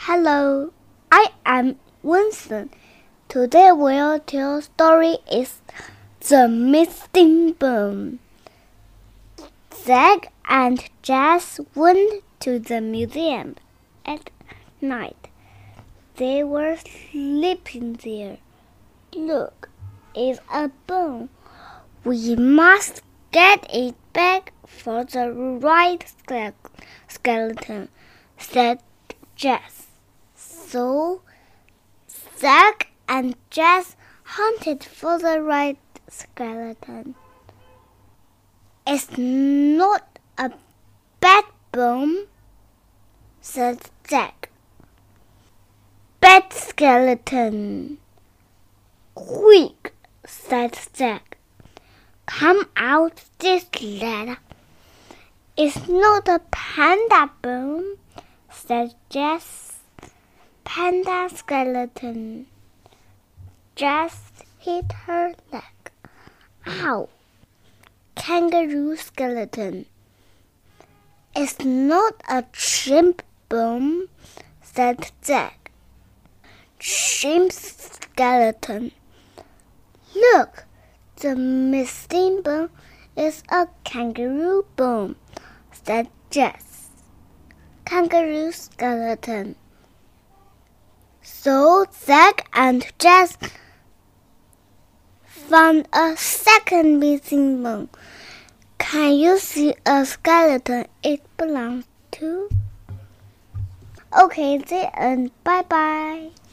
Hello, I am Winston. Today we'll tell story is The Missing Bone. Zack and Jess went to the museum at night. They were sleeping there. Look, it's a bone. We must get it back for the right skeleton, said Jess. So Zack and Jess hunted for the right skeleton. It's not a bad bone, said Zack. Bad skeleton. Quick, said Zack. Come out this ladder. It's not a panda bone, said Jess. Panda skeleton. Jess hit her leg. Ow! Kangaroo skeleton. It's not a chimp bone, said Zack. Chimp skeleton. Look, the missing bone is a kangaroo bone, said Jess. Kangaroo skeleton. So Zack and Jess found a second missing bone. Can you see a skeleton it belongs to? Okay, the end. Bye-bye.